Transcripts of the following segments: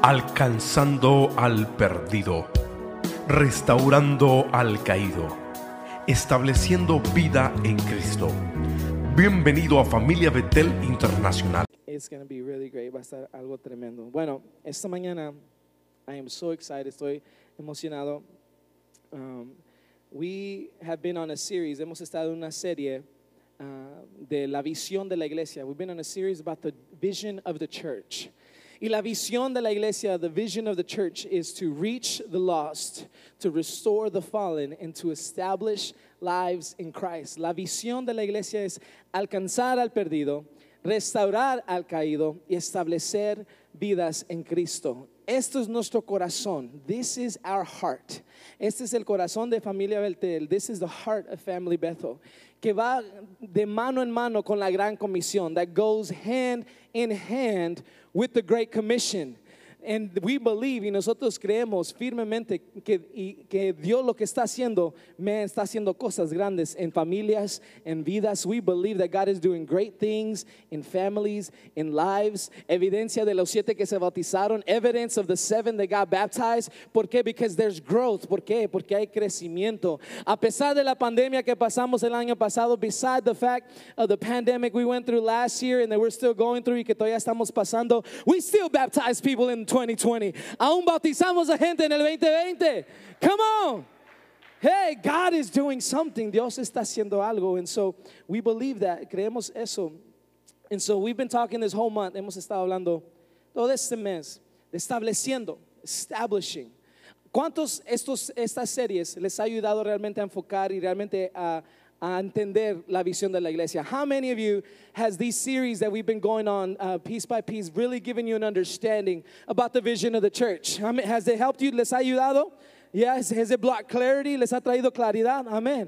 alcanzando al perdido, restaurando al caído, estableciendo vida en Cristo. Bienvenido a Familia Betel Internacional. It's going to be really great. Va a estar algo tremendo. Bueno, esta mañana I am so excited. Estoy emocionado. We have been on a series. Hemos estado en una serie de la visión de la iglesia. We've been on a series about the vision of the church. Y la visión de la iglesia, the vision of the church, is to reach the lost, to restore the fallen, and to establish lives in Christ. La visión de la iglesia es alcanzar al perdido, restaurar al caído y establecer vidas en Cristo. Esto es nuestro corazón. This is our heart. Este es el corazón de Familia Betel. This is the heart of Family Bethel. Que va de mano en mano con la gran comisión. That goes hand in hand with the Great Commission. And we believe, y nosotros creemos firmemente que Dios lo que está haciendo cosas grandes en familias, en vidas. We believe that God is doing great things in families, in lives. Evidencia de los 7 que se bautizaron. Evidence of the 7 that got baptized. ¿Por qué? Because there's growth. ¿Por qué? Porque hay crecimiento. A pesar de la pandemia que pasamos el año pasado, beside the fact of the pandemic we went through last year and that we're still going through y que todavía estamos pasando, we still baptize people in 2020. Aún bautizamos a gente en el 2020. Come on. Hey, God is doing something. Dios está haciendo algo. And so we believe that. Creemos eso. And so we've been talking this whole month. Hemos estado hablando todo este mes de estableciendo, establishing. ¿Cuántos estas series les ha ayudado realmente a enfocar y realmente a entender la visión de la iglesia? How many of you has these series that we've been going on piece by piece really given you an understanding about the vision of the church? Has it helped you? ¿Les ha ayudado? Yes. Has it brought clarity? ¿Les ha traído claridad? Amen.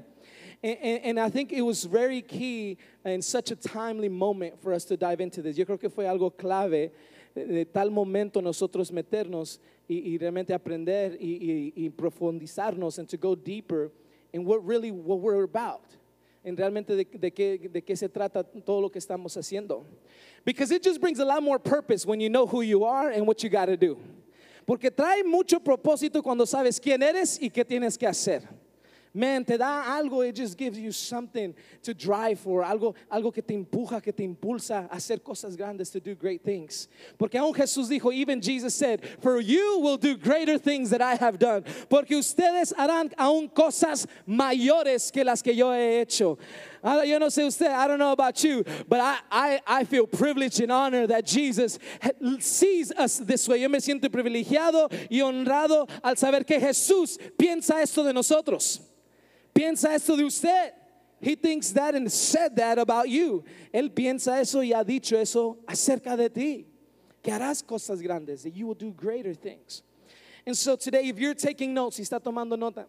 And I think it was very key in such a timely moment for us to dive into this. Yo creo que fue algo clave de tal momento nosotros meternos y realmente aprender y profundizarnos and to go deeper in what we're about. En realmente de qué se trata todo lo que estamos haciendo. Because it just brings a lot more purpose when you know who you are and what you got to do. Porque trae mucho propósito cuando sabes quién eres y qué tienes que hacer. Man, te da algo, it just gives you something to drive for, algo que te empuja, que te impulsa a hacer cosas grandes, to do great things. Porque aún Jesús dijo, even Jesus said, for you will do greater things that I have done. Porque ustedes harán aún cosas mayores que las que yo he hecho. Yo no sé usted, I don't know about you, but I feel privileged and honored that Jesus sees us this way. Yo me siento privilegiado y honrado al saber que Jesús piensa esto de nosotros. Piensa esto de usted. He thinks that and said that about you. Él piensa eso y ha dicho eso acerca de ti. Que harás cosas grandes, that you will do greater things. And so today, if you're taking notes, si está tomando nota,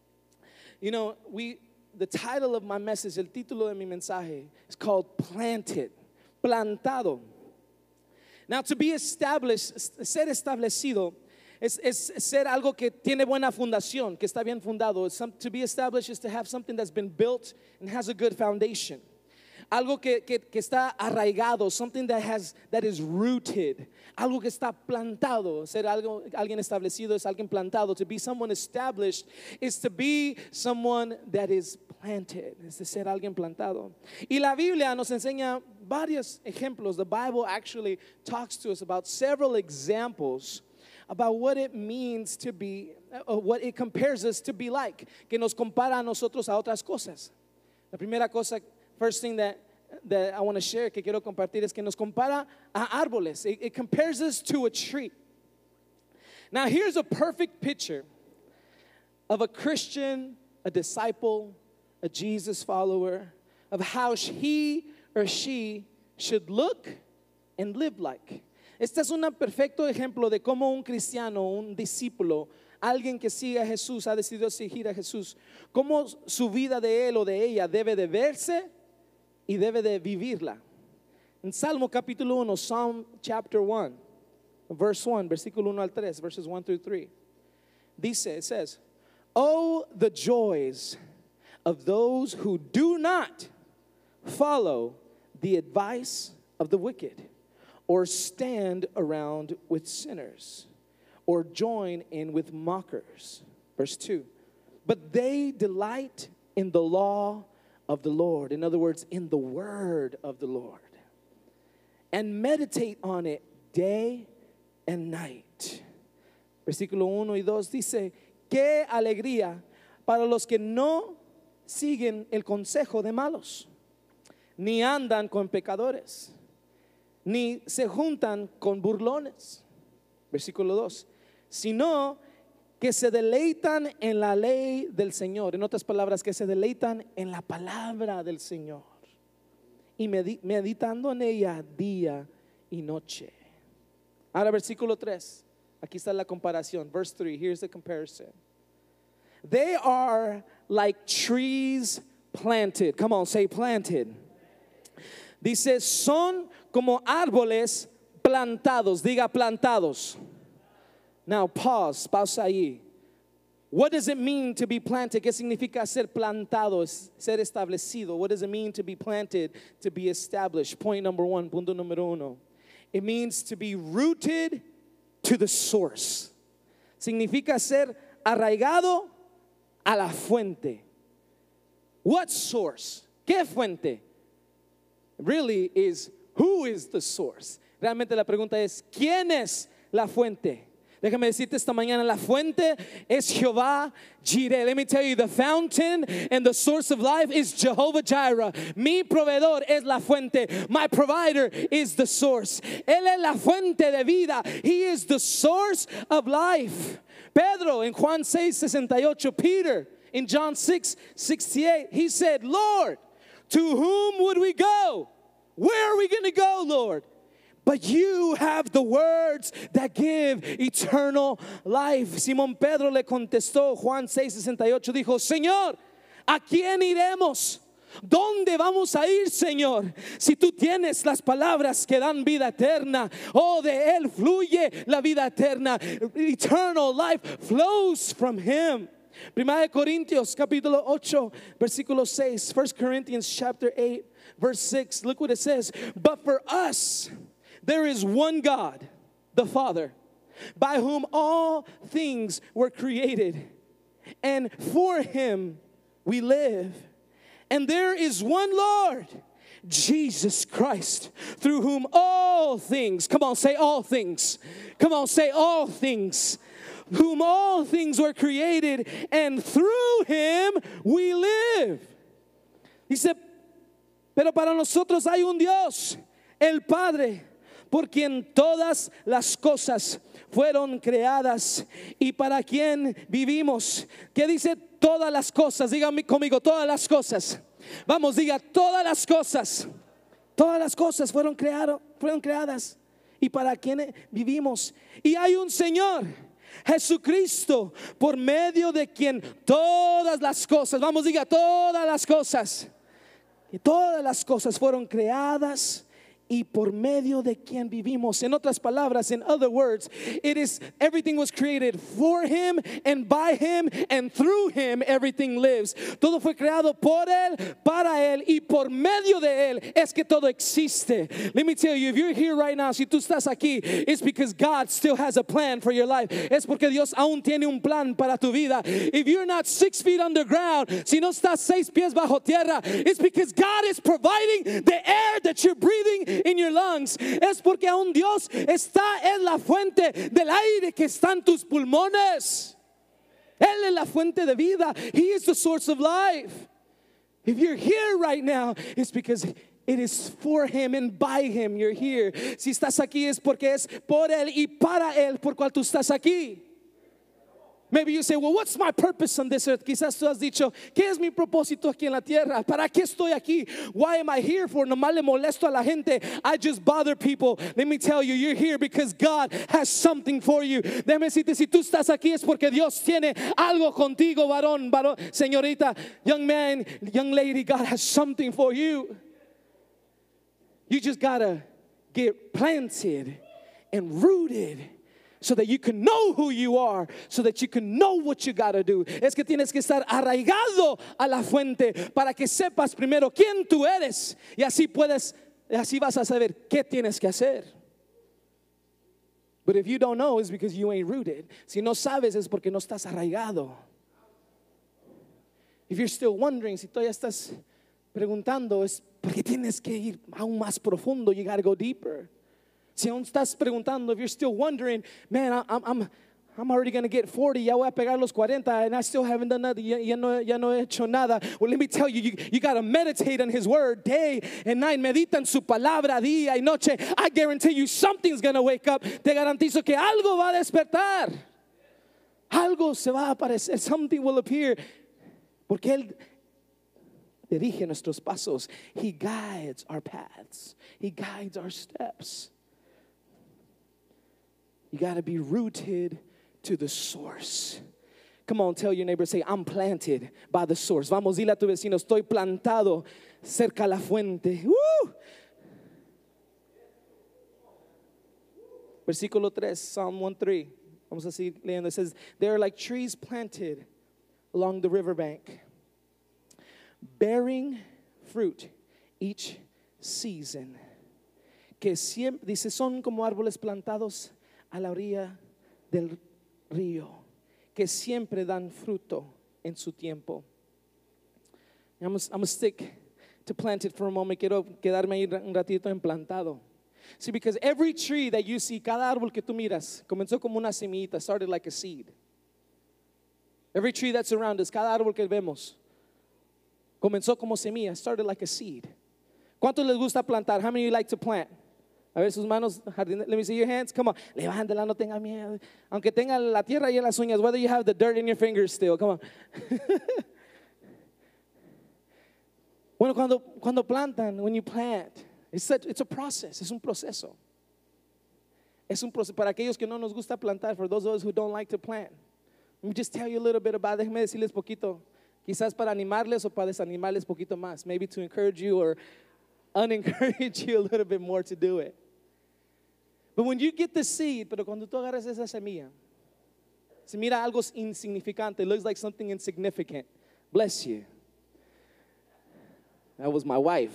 you know, the title of my message, el título de mi mensaje, is called Planted, plantado. Now, to be established, ser establecido, es ser algo que tiene buena fundación, que está bien fundado. To be established is to have something that's been built and has a good foundation. Algo que está arraigado, something that is rooted. Algo que está plantado. Ser alguien establecido es alguien plantado. To be someone established is to be someone that is planted. Es de ser alguien plantado. Y la Biblia nos enseña varios ejemplos. The Bible actually talks to us about several examples about what it means to be, what it compares us to be like, que nos compara a nosotros a otras cosas. La primera cosa, first thing that I want to share, que quiero compartir, es que nos compara a árboles. It compares us to a tree. Now here's a perfect picture of a Christian, a disciple, a Jesus follower, of how he or she should look and live like. Este es un perfecto ejemplo de cómo un cristiano, un discípulo, alguien que sigue a Jesús, ha decidido seguir a Jesús, cómo su vida de él o de ella debe de verse y debe de vivirla. En Salmo capítulo 1, Psalm chapter 1, verse 1, versículo 1 al 3, verses 1 through 3. Dice, it says, oh, the joys of those who do not follow the advice of the wicked, or stand around with sinners, or join in with mockers. Verse 2. But they delight in the law of the Lord. In other words, in the word of the Lord. And meditate on it day and night. Versículo 1 y 2 dice, qué alegría para los que no siguen el consejo de malos, ni andan con pecadores, ni se juntan con burlones. Versículo 2, sino que se deleitan en la ley del Señor. En otras palabras, que se deleitan en la palabra del Señor y meditando en ella día y noche. Ahora versículo 3, aquí está la comparación. Verse 3, here's the comparison. They are like trees planted. Come on, say planted. Dice, son como árboles plantados. Diga plantados. Now pausa ahí. What does it mean to be planted? ¿Qué significa ser plantado, ser establecido? What does it mean to be planted, to be established? Point number 1, punto número 1. It means to be rooted to the source. Significa ser arraigado a la fuente. What source? ¿Qué fuente? Really is, who is the source? Realmente la pregunta es, ¿quién es la fuente? Déjame decirte esta mañana, la fuente es Jehová Jireh. Let me tell you, the fountain and the source of life is Jehovah Jireh. Mi proveedor es la fuente. My provider is the source. Él es la fuente de vida. He is the source of life. Pedro in Juan 6:68, Peter in John 6:68, he said, Lord, to whom would we go? Where are we going to go, Lord? But you have the words that give eternal life. Simón Pedro le contestó, Juan 6:68, dijo, Señor, ¿a quién iremos? ¿Dónde vamos a ir, Señor? Si tú tienes las palabras que dan vida eterna, oh, de Él fluye la vida eterna. Eternal life flows from Him. Primera de Corintios capítulo 8 versículo 6. 1 Corinthians chapter 8 verse 6. Look what it says. But for us there is one God, the Father, by whom all things were created, and for Him we live. And there is one Lord, Jesus Christ, through whom all things, come on, say all things. Come on, say all things. Whom all things were created, and through Him we live. Dice, pero para nosotros hay un Dios, el Padre, por quien todas las cosas fueron creadas y para quien vivimos. ¿Qué dice todas las cosas? Dígame conmigo, todas las cosas. Vamos, diga, todas las cosas. Todas las cosas fueron creadas y para quien vivimos. Y hay un Señor, Jesucristo, por medio de quien todas las cosas, vamos, diga, todas las cosas. Y todas las cosas fueron creadas y por medio de quien vivimos. En otras palabras, in other words, it is everything was created for Him and by Him and through Him everything lives. Todo fue creado por Él, para Él y por medio de Él es que todo existe. Let me tell you, if you're here right now, si tú estás aquí, it's because God still has a plan for your life. Es porque Dios aún tiene un plan para tu vida. If you're not 6 feet underground, si no estás 6 pies bajo tierra, it's because God is providing the air that you're breathing in your lungs. Es porque aún Dios está en la fuente del aire que está en tus pulmones. Él es la fuente de vida. He is the source of life. If you're here right now, it's because it is for Him and by Him you're here. Si estás aquí es porque es por Él y para Él por cual tú estás aquí. Maybe you say, well, what's my purpose on this earth? Quizás tú has dicho, ¿qué es mi propósito aquí en la tierra? ¿Para qué estoy aquí? Why am I here for? Nomás le molesto a la gente. I just bother people. Let me tell you, you're here because God has something for you. Déjame decirte, si tú estás aquí es porque Dios tiene algo contigo, varón, señorita, young man, young lady. God has something for you. You just gotta get planted and rooted, so that you can know who you are, so that you can know what you got to do. Es que tienes que estar arraigado a la fuente para que sepas primero quién tú eres y así vas a saber qué tienes que hacer. But if you don't know, it's because you ain't rooted. Si no sabes, es porque no estás arraigado. If you're still wondering, si todavía estás preguntando, es porque tienes que ir aún más profundo. You got to go deeper. Si aún estás preguntando, if you're still wondering, man, I'm already going to get 40, ya voy a pegar los 40, and I still haven't done nothing, ya no he hecho nada. Well, let me tell you, you got to meditate on His Word day and night. Medita en su palabra día y noche. I guarantee you something's going to wake up. Te garantizo que algo va a despertar. Algo se va a aparecer. Something will appear. Porque Él dirige nuestros pasos. He guides our paths. He guides our steps. You got to be rooted to the source. Come on, tell your neighbor, say, I'm planted by the source. Vamos, dile a tu vecino, estoy plantado cerca a la fuente. ¡Woo! Versículo 3, Psalm 1:3. Vamos a seguir leyendo. It says, they are like trees planted along the riverbank, bearing fruit each season. Que siempre, dice, son como árboles plantados a la orilla del río, que siempre dan fruto en su tiempo. I'm gonna stick to planted for a moment. Quiero quedarme ahí un ratito en plantado. See, because every tree that you see, cada árbol que tú miras, comenzó como una semillita, started like a seed. Every tree that's around us, cada árbol que vemos, comenzó como semilla, started like a seed. ¿Cuántos les gusta plantar? How many of you like to plant? A ver sus manos, let me see your hands. Come on, levántela, no tenga miedo. Aunque tenga la tierra y en las uñas, whether you have the dirt in your fingers still, come on. Bueno, cuando plantan, when you plant, it's a process, es un proceso. Es un proceso para aquellos que no nos gusta plantar, for those of us who don't like to plant. Let me just tell you a little bit about it. Déjenme decirles poquito, quizás para animarles o para desanimarles poquito más, maybe to encourage you or unencourage you a little bit more to do it. But when you get the seed, pero cuando tú agarras esa semilla, se mira algo insignificante. It looks like something insignificant. Bless you. That was my wife.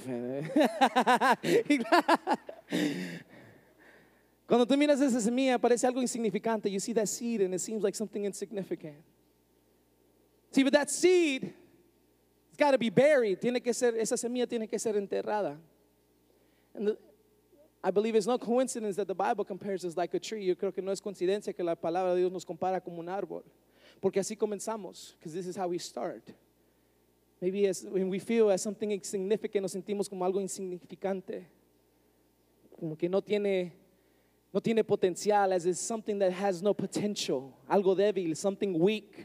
Cuando tú miras esa semilla, parece algo insignificante. You see that seed and it seems like something insignificant. See, but that seed, it's got to be buried. Esa semilla tiene que ser enterrada. And I believe it's no coincidence that the Bible compares us like a tree. Yo creo que no es coincidencia que la palabra de Dios nos compara como un árbol. Porque así comenzamos, because this is how we start. Maybe when we feel as something insignificant, nos sentimos como algo insignificante. Como que no tiene potencial, as is something that has no potential. Algo débil, something weak.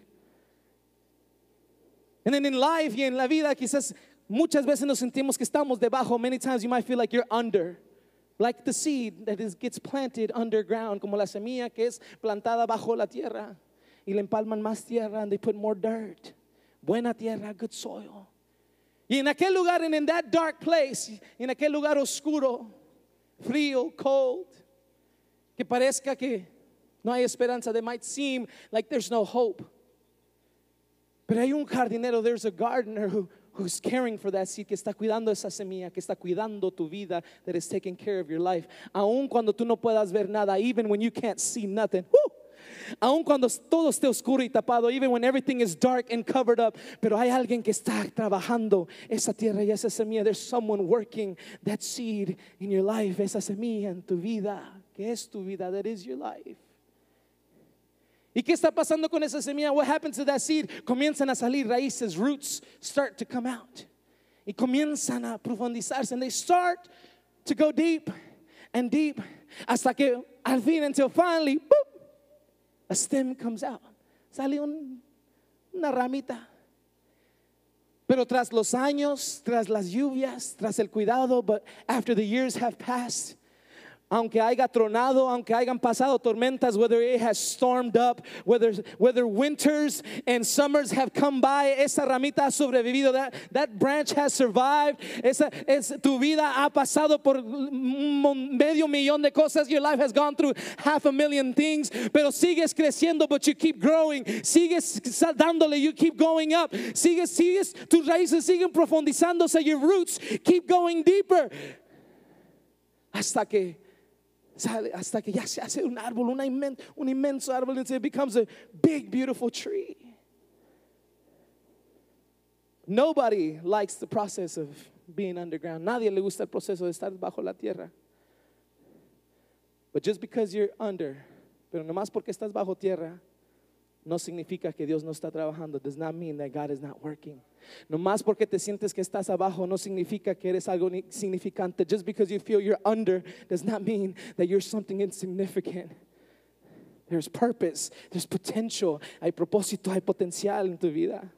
And then in life y en la vida, quizás muchas veces nos sentimos que estamos debajo. Many times you might feel like you're under. Like the seed that gets planted underground, como la semilla que es plantada bajo la tierra. Y le empalman más tierra and they put more dirt. Buena tierra, good soil. Y en aquel lugar, and in that dark place, en aquel lugar oscuro, frío, cold, que parezca que no hay esperanza, that might seem like there's no hope. Pero hay un jardinero, there's a gardener who's caring for that seed, que está cuidando esa semilla, que está cuidando tu vida, that is taking care of your life. Aun cuando tú no puedas ver nada, even when you can't see nothing. Woo! Aun cuando todo esté oscuro y tapado, even when everything is dark and covered up, pero hay alguien que está trabajando esa tierra y esa semilla. There's someone working that seed in your life, esa semilla en tu vida, que es tu vida, that is your life. ¿Y qué está pasando con esa semilla? What happens to that seed? Comienzan a salir raíces, roots start to come out. Y comienzan a profundizarse, and they start to go deep and deep, hasta que al fin, until finally, boop, a stem comes out. Sale una ramita. Pero tras los años, tras las lluvias, tras el cuidado, but after the years have passed, aunque haya tronado, aunque hayan pasado tormentas, whether it has stormed up, whether winters and summers have come by, esa ramita ha sobrevivido, that branch has survived. Tu vida ha pasado por medio millón de cosas. Your life has gone through 500,000 things, pero sigues creciendo, but you keep growing. Sigues dándole, you keep going up. Sigues, tus raíces siguen profundizándose, your roots keep going deeper. Hasta que Sale hasta que ya se hace un árbol, un inmenso árbol, until it becomes a big, beautiful tree. Nobody likes the process of being underground. Nadie le gusta el proceso de estar bajo la tierra. But just because you're under, pero nomás porque estás bajo tierra, no significa que Dios no está trabajando. Does not mean that God is not working. Nomás porque te sientes que estás abajo, no significa que eres algo insignificante. Just because you feel you're under does not mean that you're something insignificant. There's purpose, there's potential, hay propósito, hay potencial en tu vida.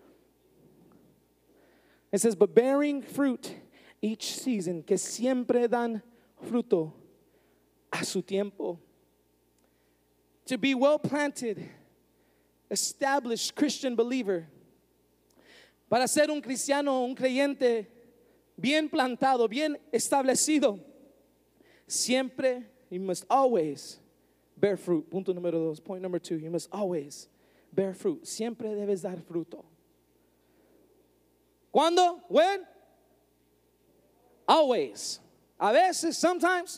It says, but bearing fruit each season, que siempre dan fruto a su tiempo. To be well planted, established Christian believer. Para ser un cristiano, un creyente bien plantado, bien establecido, siempre, you must always bear fruit. Punto número 2, point number 2, you must always bear fruit. Siempre debes dar fruto. ¿Cuándo? When? Always. A veces, sometimes.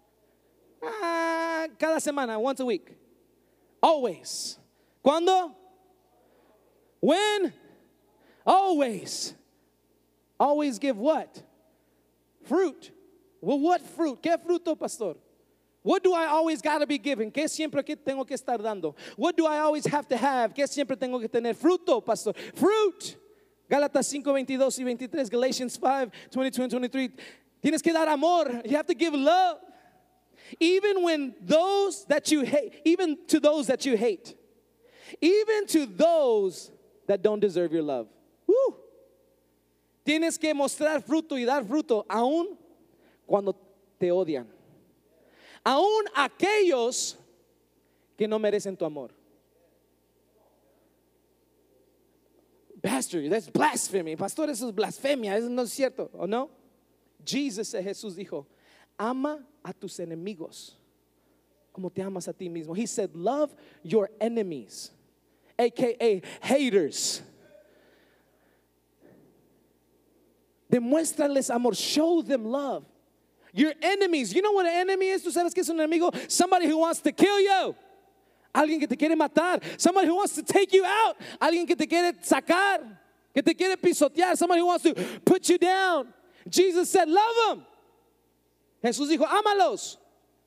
Cada semana, once a week. Always. ¿Cuándo? When? Always. Always give what? Fruit. Well, what fruit? ¿Qué fruto, pastor? What do I always got to be giving? ¿Qué siempre que tengo que estar dando? What do I always have to have? ¿Qué siempre tengo que tener? Fruto, pastor. Fruit. Gálatas 5, 22 y 23. Galatians 5, 22 and 23. Tienes que dar amor. You have to give love. Even when those that you hate, even to those that you hate. Even to those that don't deserve your love. Woo. Tienes que mostrar fruto y dar fruto aún cuando te odian. Aún aquellos que no merecen tu amor. Pastor, that's blasphemy. Pastor, eso es blasfemia. Eso no es cierto, ¿o no? Jesús dijo, ama a tus enemigos como te amas a ti mismo. He said, love your enemies, aka haters. Demuéstrales amor. Show them love. Your enemies. You know what an enemy is? ¿Tú sabes qué es un enemigo? Somebody who wants to kill you. Alguien que te quiere matar. Somebody who wants to take you out. Alguien que te quiere sacar. Que te quiere pisotear. Somebody who wants to put you down. Jesus said, love them. Jesús dijo, ámalos.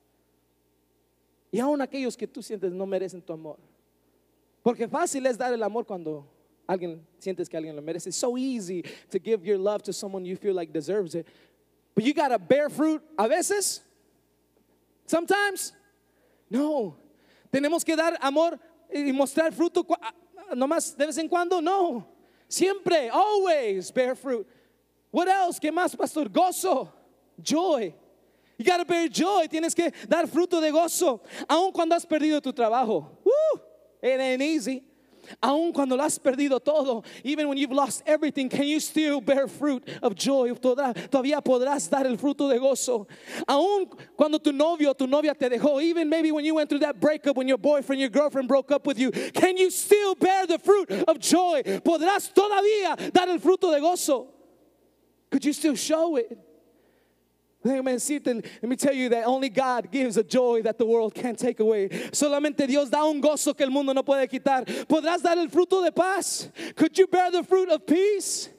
Y aún aquellos que tú sientes no merecen tu amor. Porque fácil es dar el amor cuando sientes que alguien lo merece. It's so easy to give your love to someone you feel like deserves it. But you got to bear fruit a veces. Sometimes. No. Tenemos que dar amor y mostrar fruto nomás de vez en cuando. No. Siempre. Always bear fruit. What else? ¿Qué más, pastor? Gozo. Joy. You got to bear joy. Tienes que dar fruto de gozo. Aun cuando has perdido tu trabajo. It ain't easy. Aun cuando lo has perdido todo, even when you've lost everything, can you still bear fruit of joy? Todavía podrás dar el fruto de gozo. Aun cuando tu novio o tu novia te dejó, even maybe when you went through that breakup, when your boyfriend, your girlfriend broke up with you, can you still bear the fruit of joy? ¿Podrás todavía dar el fruto de gozo? Could you still show it? Let me tell you that only God gives a joy that the world can't take away. Solamente Dios da un gozo que el mundo no puede quitar. ¿Podrás dar el fruto de paz? Could you bear the fruit of peace?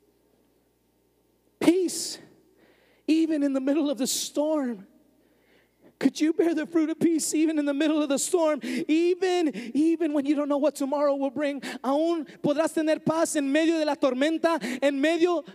Peace. Even in the middle of the storm. Could you bear the fruit of peace even in the middle of the storm? Even when you don't know what tomorrow will bring. Aún podrás tener paz en medio de la tormenta, en medio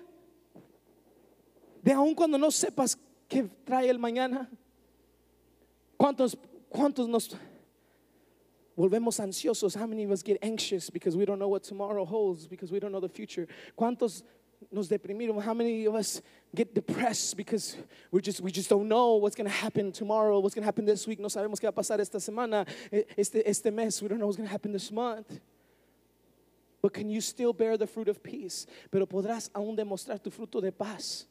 de aún cuando no sepas qué trae el mañana. ¿Cuántos nos volvemos ansiosos? How many of us get anxious because we don't know what tomorrow holds, because we don't know the future? ¿Cuántos nos deprimimos? How many of us get depressed because we just don't know what's going to happen tomorrow, what's going to happen this week? No sabemos qué va a pasar esta semana, este mes. We don't know what's going to happen this month. But can you still bear the fruit of peace? Pero podrás aún demostrar tu fruto de paz.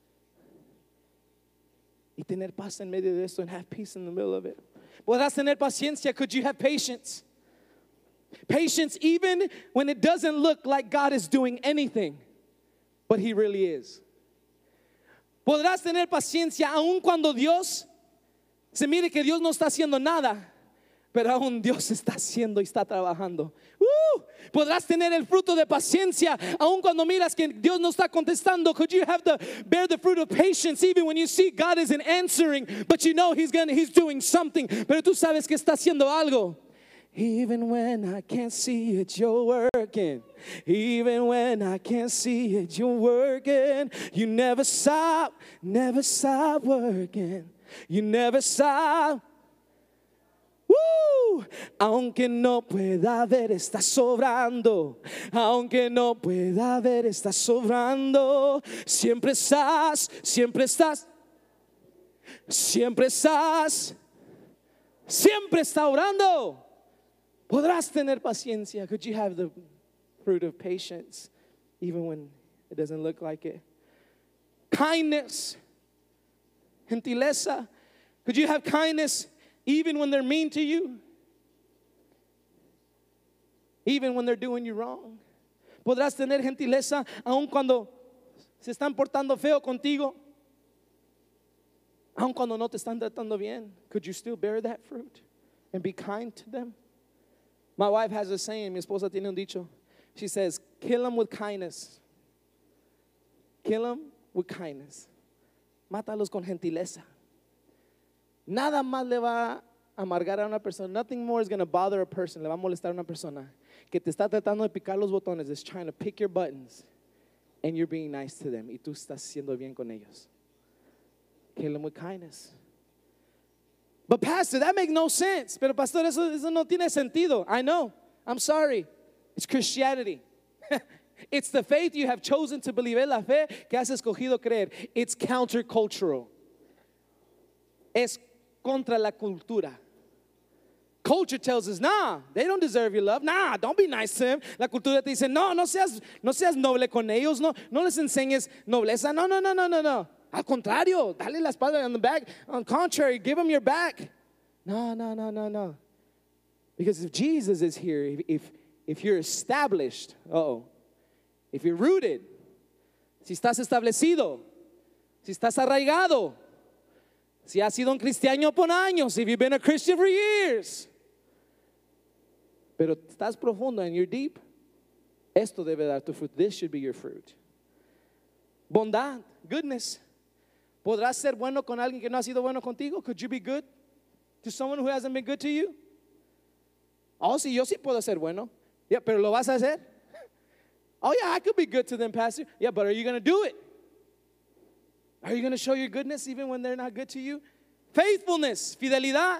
Y tener paz en medio de esto, and have peace in the middle of it. Podrás tener paciencia. Could you have patience? Patience even when it doesn't look like God is doing anything, but He really is. Podrás tener paciencia aun cuando Dios Se mire que Dios no está haciendo nada, pero aún Dios está haciendo y está trabajando. Podrás tener el fruto de paciencia aun cuando miras que Dios no está contestando. Could you have the bear the fruit of patience even when you see God isn't answering, but you know He's doing something? Pero tú sabes que está haciendo algo. Even when I can't see it, you're working. Even when I can't see it, you're working. You never stop working. You never stop. Aunque no pueda ver, está sobrando. Aunque no pueda ver, está sobrando. Siempre estás, siempre estás, siempre estás, siempre está orando. Podrás tener paciencia. Could you have the fruit of patience even when it doesn't look like it? Kindness, gentileza. Could you have kindness even when they're mean to you? Even when they're doing you wrong. Podrás tener gentileza aun cuando se están portando feo contigo. Aun cuando no te están tratando bien. Could you still bear that fruit and be kind to them? My wife has a saying, mi esposa tiene un dicho. She says, kill them with kindness. Kill them with kindness. Mátalos con gentileza. Nada más le va a amargar a una persona. Nothing more is going to bother a person. Le va a molestar a una persona que te está tratando de picar los botones, is trying to pick your buttons, and you're being nice to them. Y tú estás siendo bien con ellos. Kill them with kindness. But pastor, that makes no sense. Pero pastor, eso no tiene sentido. I know. I'm sorry. It's Christianity. It's the faith you have chosen to believe. Es la fe que has escogido creer. It's countercultural. Es contra la cultura. Culture tells us, nah, they don't deserve your love. Nah, don't be nice to them. La cultura te dice, no seas noble con ellos. No les enseñes nobleza. No. Al contrario, dale la espalda on the back. On the contrary, give them your back. No. Because if Jesus is here, if you're established, if you're rooted, si estás establecido, si estás arraigado, si has sido un cristiano por años, if you've been a Christian for years, pero estás profundo and you're deep, esto debe dar tu fruit. This should be your fruit. Bondad, goodness. ¿Podrás ser bueno con alguien que no ha sido bueno contigo? Could you be good to someone who hasn't been good to you? Oh, sí, yo sí puedo ser bueno. Yeah, pero ¿lo vas a hacer? Oh, yeah, I could be good to them, pastor. Yeah, but are you going to do it? Are you going to show your goodness even when they're not good to you? Faithfulness, fidelidad.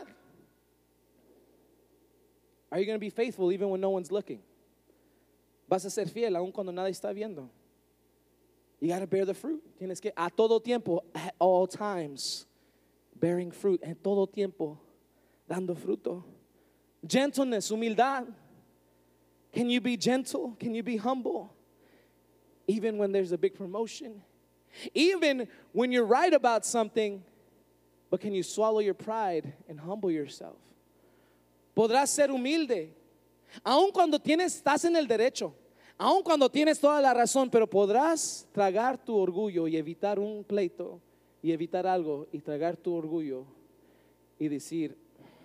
Are you going to be faithful even when no one's looking? Vas a ser fiel aun cuando nadie está viendo. You got to bear the fruit. Tienes que a todo tiempo, at all times, bearing fruit. En todo tiempo, dando fruto. Gentleness, humildad. Can you be gentle? Can you be humble? Even when there's a big promotion. Even when you're right about something, but can you swallow your pride and humble yourself? Podrás ser humilde, aun cuando estás en el derecho, aun cuando tienes toda la razón, pero podrás tragar tu orgullo y evitar un pleito y evitar algo y tragar tu orgullo y decir,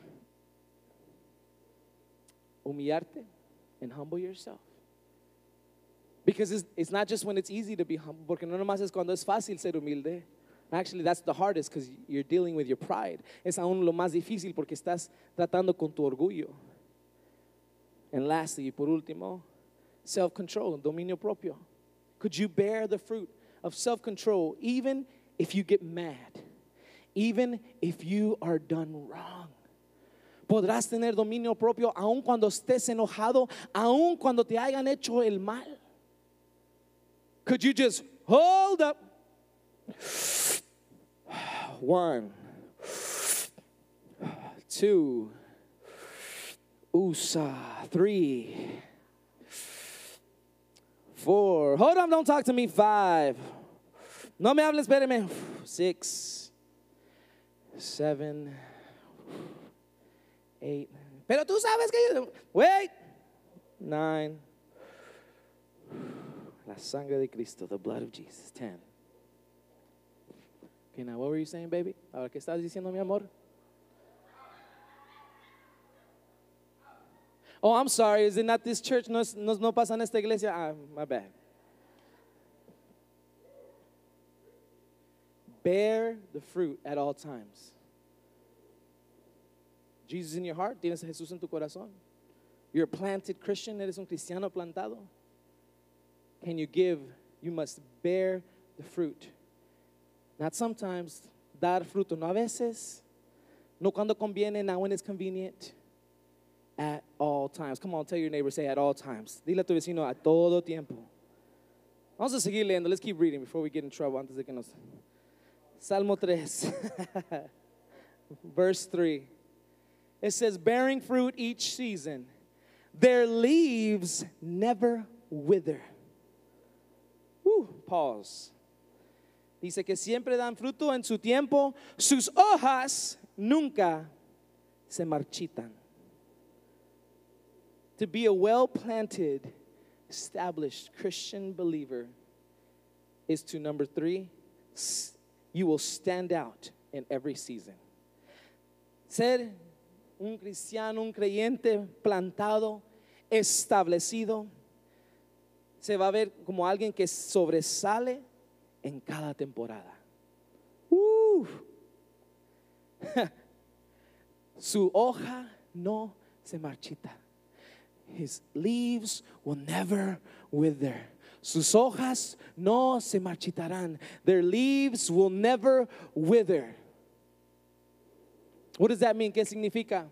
humillarte and humble yourself. Because it's not just when it's easy to be humble, porque no nomás es cuando es fácil ser humilde. Actually, that's the hardest because you're dealing with your pride. Es aún lo más difícil porque estás tratando con tu orgullo. And lastly, por último, self-control, dominio propio. Could you bear the fruit of self-control even if you get mad? Even if you are done wrong? Podrás tener dominio propio aun cuando estés enojado, aun cuando te hayan hecho el mal. Could you just hold up? 1, 2, 3, 4. Hold on, don't talk to me. 5. No me hables, espéreme. 6, 7, 8. Pero tú sabes que wait. 9. La sangre de Cristo, the blood of Jesus. 10. Okay, now what were you saying, baby? Ahora, ¿qué estás diciendo, mi amor? Oh, I'm sorry, is it not this church? No pasa en esta iglesia? Ah, my bad. Bear the fruit at all times. Jesus in your heart, tienes a Jesús en tu corazón. You're a planted Christian, eres un cristiano plantado. Can you give? You must bear the fruit. Not sometimes, dar fruto, no a veces, no cuando conviene, not when it's convenient. At all times. Come on, tell your neighbor, say at all times. Dile a tu vecino, a todo tiempo. Vamos a seguir leyendo. Let's keep reading before we get in trouble. Antes de que nos... Salmo 3, verse 3. It says, bearing fruit each season, their leaves never wither. Pause. Dice que siempre dan fruto en su tiempo, sus hojas nunca se marchitan. To be a well-planted, established Christian believer is to, number 3, you will stand out in every season. Ser un cristiano, un creyente plantado, establecido, se va a ver como alguien que sobresale en cada temporada. Su hoja no se marchita. His leaves will never wither. Sus hojas no se marchitarán. Their leaves will never wither. What does that mean? ¿Qué significa?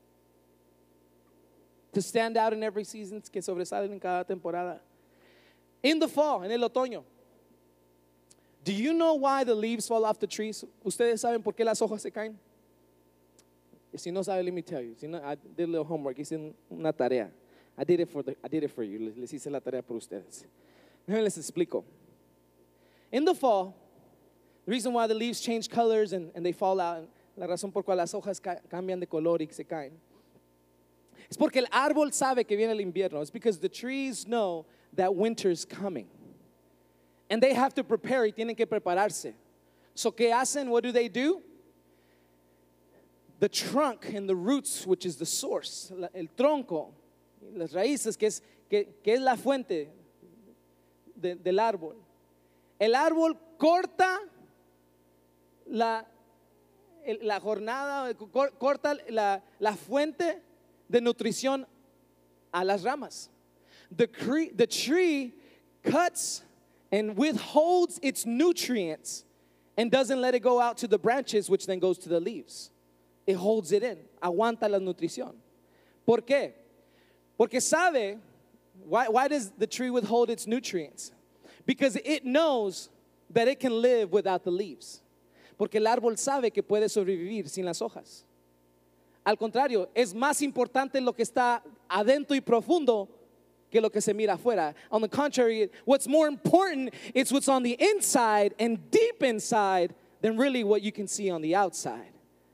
To stand out in every season, que sobresalen en cada temporada. In the fall, en el otoño. Do you know why the leaves fall off the trees? ¿Ustedes saben por qué las hojas se caen? Si no saben, let me tell you. Si no, I did a little homework. Hice una tarea. I did it for you. Les hice la tarea por ustedes. Déjenme les explico. In the fall, the reason why the leaves change colors and they fall out, la razón por cual las hojas cambian de color y se caen, es porque el árbol sabe que viene el invierno. It's because the trees know that winter's coming. And they have to prepare y tienen que prepararse. So, ¿qué hacen? What do? The trunk and the roots, which is the source, el tronco, las raíces, que es la fuente del árbol. El árbol corta la jornada, corta la fuente de nutrición a las ramas. The tree cuts and withholds its nutrients and doesn't let it go out to the branches, which then goes to the leaves. It holds it in, aguanta la nutrición. ¿Por qué? Porque sabe, why does the tree withhold its nutrients? Because it knows that it can live without the leaves. Porque el árbol sabe que puede sobrevivir sin las hojas. Al contrario, es más importante lo que está adentro y profundo que lo que se mira afuera. On the contrary, what's more important is what's on the inside and deep inside than really what you can see on the outside.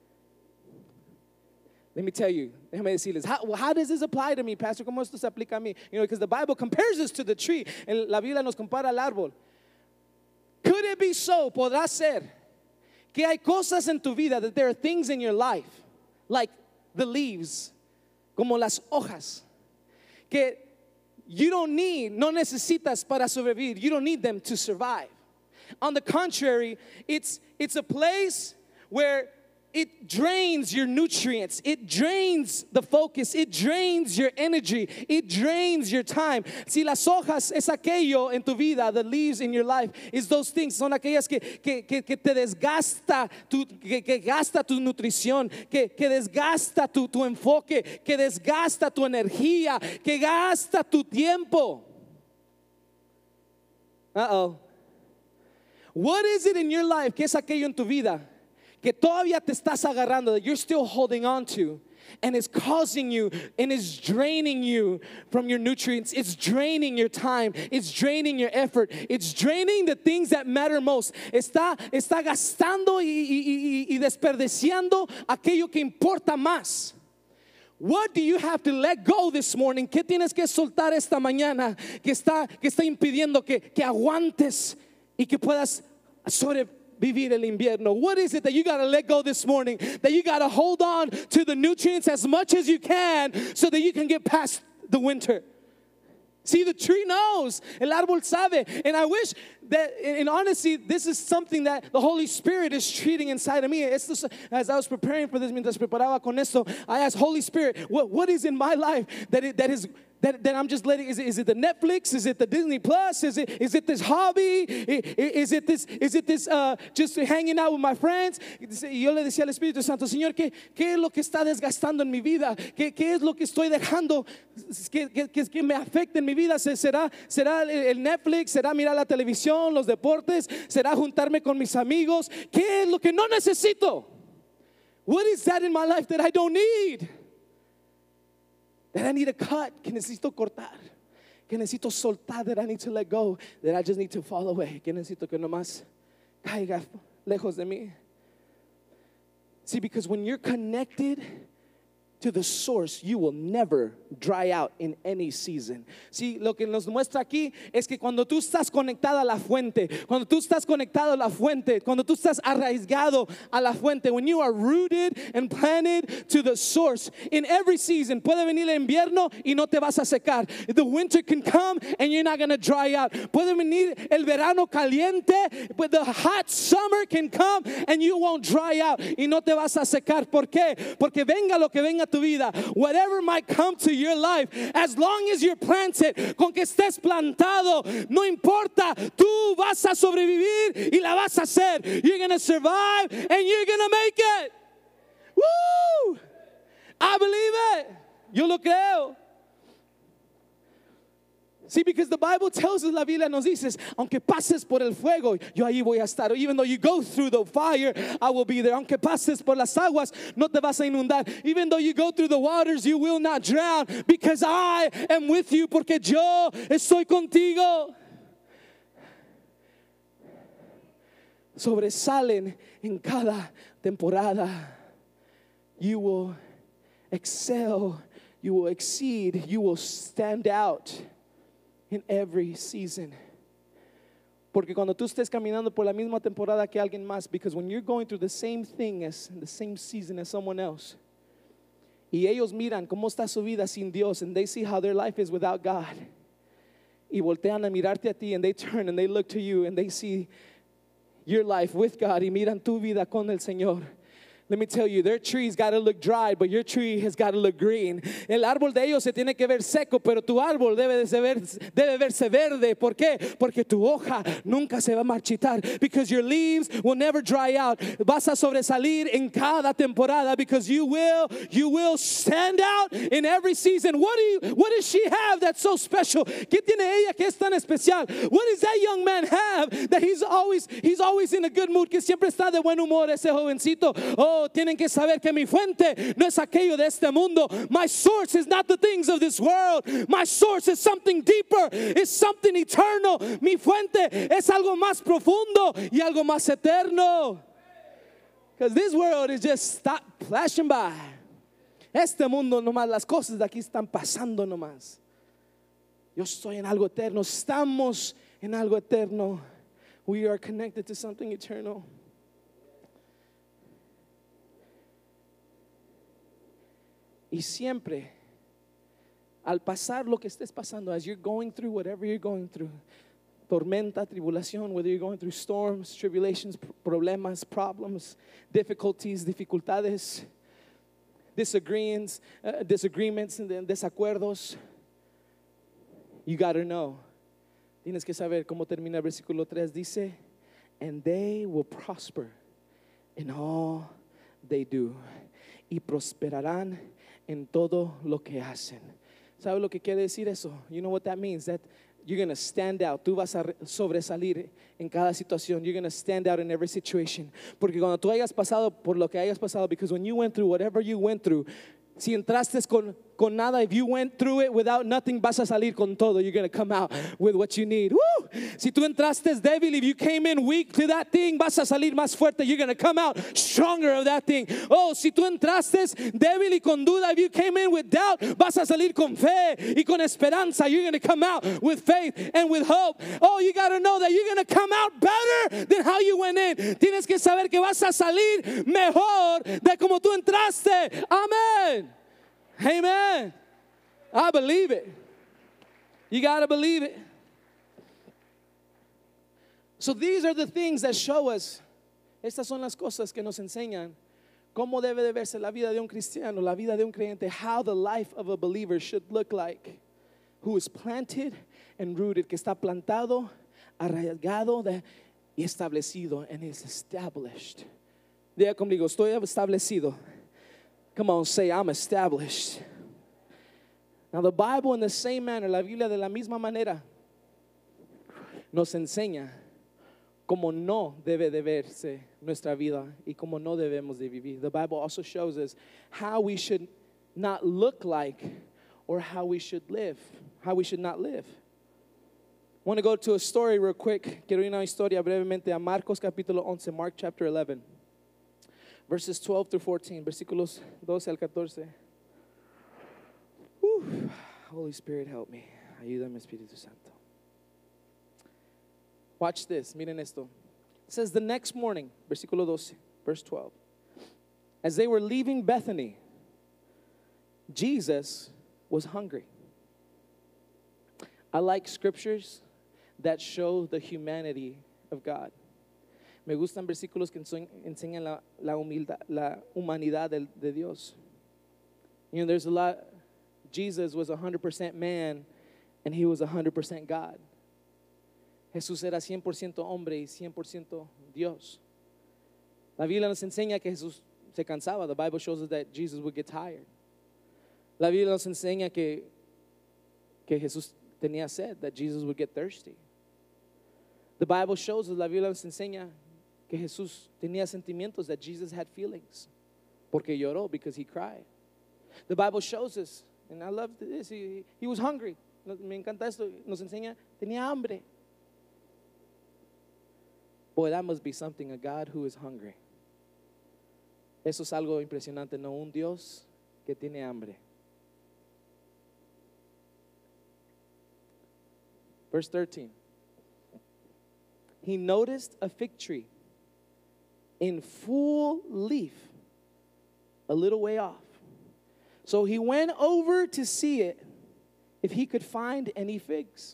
Let me tell you, déjame decirles, how does this apply to me, Pastor? ¿Cómo esto se aplica a mí? You know, because the Bible compares us to the tree. La Biblia nos compara al árbol. Could it be so? ¿Podrá ser que hay cosas en tu vida, that there are things in your life, like the leaves, como las hojas, que you don't need, no necesitas para sobrevivir. You don't need them to survive. On the contrary, it's a place where it drains your nutrients. It drains the focus. It drains your energy. It drains your time. Si las hojas es aquello en tu vida, the leaves in your life, is those things, son aquellas que te desgasta, que gasta tu nutrición, que desgasta tu enfoque, que desgasta tu energía, que gasta tu tiempo. What is it in your life que es aquello en tu vida que todavía te estás agarrando, that you're still holding on to, and it's causing you and is draining you from your nutrients? It's draining your time. It's draining your effort. It's draining the things that matter most. Está gastando y desperdiciando aquello que importa más. What do you have to let go this morning? ¿Qué tienes que soltar esta mañana que está impidiendo que aguantes y que puedas vivir el invierno? What is it that you got to let go this morning? That you got to hold on to the nutrients as much as you can so that you can get past the winter. See, the tree knows. El árbol sabe. And I wish that, in honesty, this is something that the Holy Spirit is treating inside of me. As I was preparing for this, mientras preparaba con esto, I asked, Holy Spirit, what is in my life that I'm just letting? Is it the Netflix? Is it the Disney Plus? Is it this hobby? Is it this just hanging out with my friends? Y yo le decía al Espíritu Santo, Señor, ¿qué es lo que está desgastando en mi vida? ¿Qué es lo que estoy dejando que me afecte en mi vida? ¿Será el Netflix? ¿Será mirar la televisión, los deportes? ¿Será juntarme con mis amigos? ¿Qué es lo que no necesito? What is that in my life that I don't need? That I need to cut, que necesito cortar, que necesito soltar, that I need to let go, that I just need to fall away, que necesito que nomás caiga lejos de mí. See, because when you're connected to the source, you will never dry out in any season. Sí, lo que nos muestra aquí es que cuando tú estás conectado a la fuente, cuando tú estás conectado a la fuente, cuando tú estás arraigado a la fuente, when you are rooted and planted to the source, in every season, puede venir el invierno y no te vas a secar. The winter can come and you're not going to dry out. Puede venir el verano caliente, but the hot summer can come and you won't dry out y no te vas a secar. ¿Por qué? Porque venga lo que venga tu vida, whatever might come to your life, as long as you're planted, con que estés plantado, no importa, tú vas a sobrevivir y la vas a hacer. You're going to survive and you're going to make it. Woo! I believe it. Yo lo creo. See, because the Bible tells us, la Biblia nos dice, aunque pases por el fuego, yo ahí voy a estar. Even though you go through the fire, I will be there. Aunque pases por las aguas, no te vas a inundar. Even though you go through the waters, you will not drown. Because I am with you, porque yo estoy contigo. Sobresalen en cada temporada. You will excel. You will exceed. You will stand out in every season. Porque cuando tú estés caminando por la misma temporada que alguien más, because when you're going through the same thing as the same season as someone else, y ellos miran cómo está su vida sin Dios, and they see how their life is without God, y voltean a mirarte a ti, and they turn and they look to you and they see your life with God, y miran tu vida con el Señor. Let me tell you, their tree's got to look dry, but your tree has got to look green. El árbol de ellos se tiene que ver seco, pero tu árbol debe verse verde. ¿Por qué? Porque tu hoja nunca se va a marchitar. Because your leaves will never dry out. Vas a sobresalir en cada temporada, because you will stand out in every season. What does she have that's so special? ¿Qué tiene ella que es tan especial? What does that young man have that he's always in a good mood, que siempre está de buen humor ese jovencito? Oh, tienen que saber que mi fuente no es aquello de este mundo. My source is not the things of this world. My source is something deeper. It's something eternal. Mi fuente es algo más profundo y algo más eterno. Because this world is just flashing by. Este mundo nomás, las cosas de aquí están pasando nomás. Yo estoy en algo eterno. Estamos en algo eterno. We are connected to something eternal. Y siempre, al pasar lo que estés pasando, as you're going through whatever you're going through, tormenta, tribulación, whether you're going through storms, tribulations, problemas, difficulties, dificultades, disagreements, and desacuerdos, you got to know. Tienes que saber cómo termina el versículo 3. Dice, and they will prosper in all they do. Y prosperarán en todo lo que hacen. ¿Sabe lo que quiere decir eso? You know what that means? That you're going to stand out. Tú vas a sobresalir en cada situación. You're going to stand out in every situation. Porque cuando tú hayas pasado por lo que hayas pasado, because when you went through whatever you went through, si entraste con con nada. If you went through it without nothing, vas a salir con todo. You're going to come out with what you need. Woo! Si tú entraste débil, if you came in weak to that thing, vas a salir más fuerte. You're going to come out stronger of that thing. Oh, si tú entraste débil y con duda, if you came in with doubt, vas a salir con fe y con esperanza. You're going to come out with faith and with hope. Oh, you got to know that you're going to come out better than how you went in. Tienes que saber que vas a salir mejor de como tú entraste. Amen. Amen. I believe it. You got to believe it. So these are the things that show us. Estas son las cosas que nos enseñan cómo debe de verse la vida de un cristiano, la vida de un creyente, how the life of a believer should look like, who is planted and rooted, que está plantado, arraigado y establecido, and is established. Diga conmigo, estoy establecido. Come on, say, I'm established. Now the Bible in the same manner, la Biblia de la misma manera, nos enseña cómo no debe de verse nuestra vida y cómo no debemos de vivir. The Bible also shows us how we should not look like or how we should live, how we should not live. I want to go to a story real quick. Quiero ir a una historia brevemente a Marcos capítulo 11, Mark chapter 11, verses 12 through 14, versículos 12 al 14. Whew. Holy Spirit, help me. Ayúdame, Espíritu Santo. Watch this, miren esto. It says the next morning, versículo 12, verse 12. As they were leaving Bethany, Jesus was hungry. I like scriptures that show the humanity of God. Me gustan versículos que enseñan la humanidad de Dios. You know, there's a lot. Jesus was 100% man and he was 100% God. Jesús era 100% hombre y 100% Dios. La Biblia nos enseña que Jesús se cansaba. The Bible shows us that Jesus would get tired. La Biblia nos enseña que Jesús tenía sed, that Jesus would get thirsty. The Bible shows us, la Biblia nos enseña que Jesús tenía sentimientos, that Jesus had feelings, porque lloró, because he cried. The Bible shows us, and I love this, he was hungry. Me encanta esto, nos enseña, tenía hambre. Boy, that must be something, a God who is hungry. Eso es algo impresionante, no, un Dios que tiene hambre. Verse 13. He noticed a fig tree in full leaf a little way off. So he went over to see it, if he could find any figs.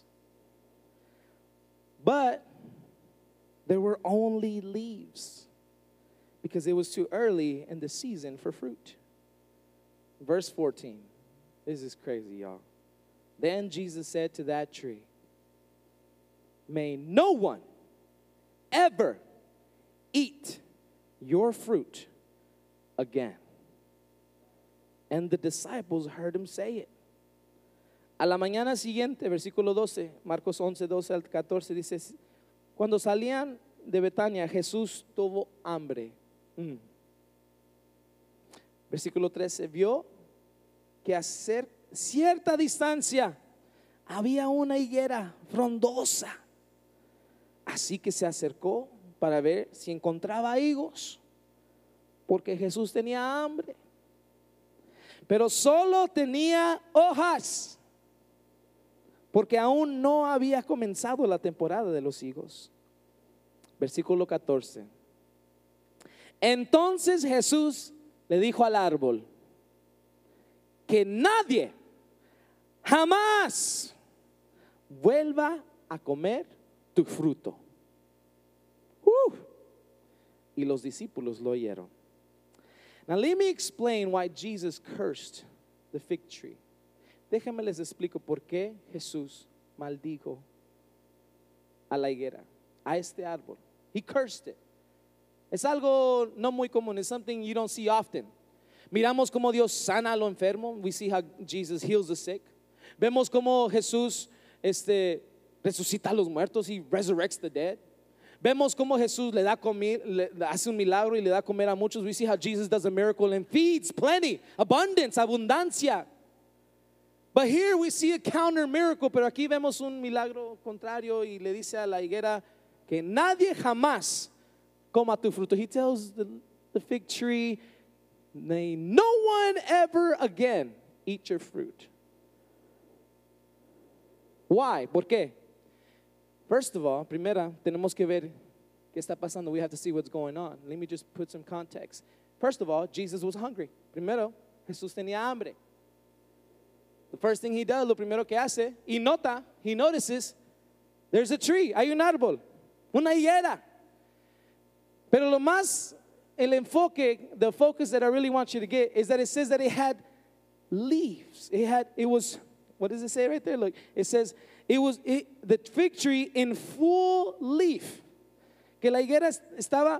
But there were only leaves, because it was too early in the season for fruit. Verse 14. This is crazy, y'all. Then Jesus said to that tree, may no one ever eat your fruit again. And the disciples heard him say it. A la mañana siguiente, versículo 12, Marcos 11, 12 al 14, dice, cuando salían de Betania, Jesús tuvo hambre. Versículo 13, vio que a cierta distancia había una higuera frondosa. Así que se acercó para ver si encontraba higos, porque Jesús tenía hambre. Pero solo tenía hojas, porque aún no había comenzado la temporada de los higos. Versículo 14. Entonces Jesús le dijo al árbol, que nadie jamás vuelva a comer tu fruto. Y los discípulos lo oyeron. Now let me explain why Jesus cursed the fig tree. Déjenme les explico por qué Jesús maldijo a la higuera, a este árbol. He cursed it. Es algo no muy común. It's something you don't see often. Miramos como Dios sana a lo enfermo. We see how Jesus heals the sick. Vemos como Jesús resucita a los muertos. He resurrects the dead. Vemos como Jesús le hace un milagro y le da comer a muchos. We see how Jesus does a miracle and feeds plenty, abundance, abundancia. But here we see a counter miracle, pero aquí vemos un milagro contrario y le dice a la higuera que nadie jamás coma tu fruto. He tells the fig tree, may no one ever again eat your fruit. Why? ¿Por qué? First of all, primera, tenemos que ver qué está pasando. We have to see what's going on. Let me just put some context. First of all, Jesus was hungry. Primero, Jesús tenía hambre. The first thing he does, lo primero que hace, he notices, there's a tree, hay un árbol, una higuera. Pero lo más, el enfoque, the focus that I really want you to get is that it says that it had leaves. It was, what does it say right there? Look, it says, the fig tree in full leaf. Que la higuera estaba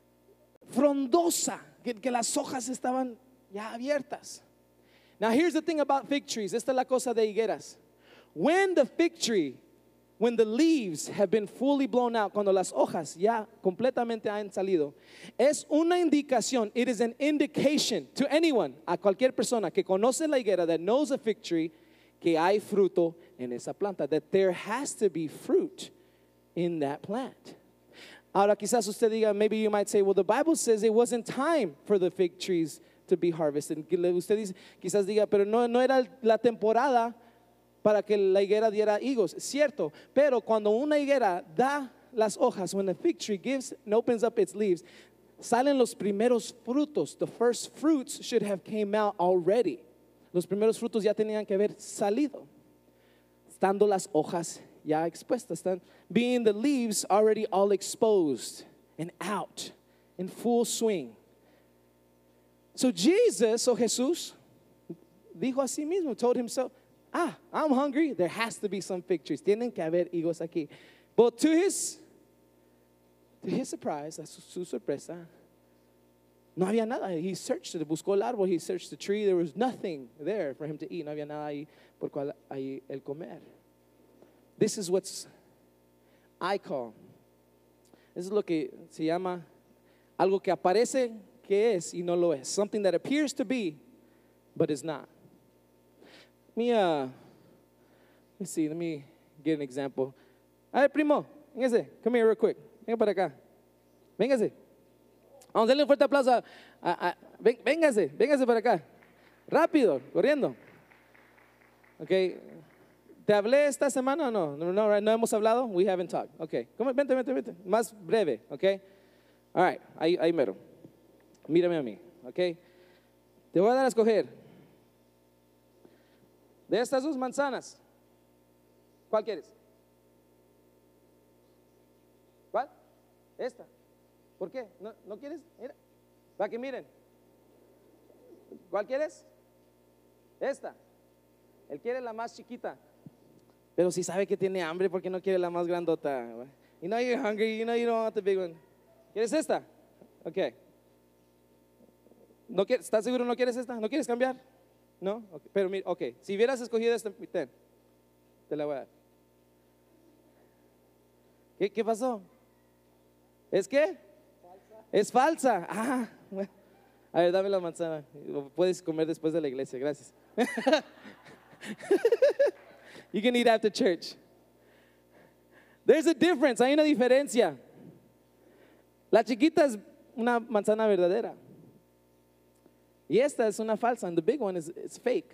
frondosa, que las hojas estaban ya abiertas. Now here's the thing about fig trees. Esta es la cosa de higueras. When the fig tree, when the leaves have been fully blown out, cuando las hojas ya completamente han salido, es una indicación, it is an indication to anyone, a cualquier persona que conoce la higuera, that knows a fig tree, que hay fruto en esa planta, that there has to be fruit in that plant. Ahora quizás usted diga, maybe you might say, well, the Bible says it wasn't time for the fig trees to be harvested. Usted dice, quizás diga, pero no era la temporada para que la higuera diera higos. Cierto, pero cuando una higuera da las hojas, when a fig tree gives and opens up its leaves, salen los primeros frutos. The first fruits should have came out already. Los primeros frutos ya tenían que haber salido, estando las hojas ya expuestas, están being the leaves already all exposed and out in full swing. So Jesus, o Jesús, dijo a sí mismo, told himself, I'm hungry, there has to be some fig trees, tienen que haber higos aquí. But to his surprise, a su sorpresa, no había nada. He searched it, buscó el árbol, he searched the tree, there was nothing there for him to eat, no había nada ahí por cual ahí el comer. This is what I call, this is lo que se llama algo que aparece que es y no lo es. Something that appears to be, but is not. Let me get an example. A ver, primo, véngase, come here real quick. Venga para acá. Véngase. Vamos a darle un fuerte aplauso. Véngase para acá. Rápido, corriendo. Ok. ¿Te hablé esta semana o no? No hemos hablado. We haven't talked. Ok. Vente. Más breve, ok. All right, ahí mero. Mírame a mí, ok. Te voy a dar a escoger. De estas dos manzanas, ¿cuál quieres? ¿Cuál? Esta. ¿Por qué? ¿No quieres? Mira, para que miren. ¿Cuál quieres? Esta. Él quiere la más chiquita. Pero si sabe que tiene hambre, ¿por qué no quiere la más grandota? You know you're hungry, you know you don't want the big one. ¿Quieres esta? Ok. ¿Estás seguro no quieres esta? ¿No quieres cambiar? No, okay. Pero mira, ok, si hubieras escogido esta, te la voy a dar. ¿Qué pasó? ¿Es qué? Es falsa. Bueno. A ver, dame la manzana. Puedes comer después de la iglesia, gracias. You can eat after church. There's a difference, hay una diferencia. La chiquita es una manzana verdadera. Y esta es una falsa, and the big one is fake.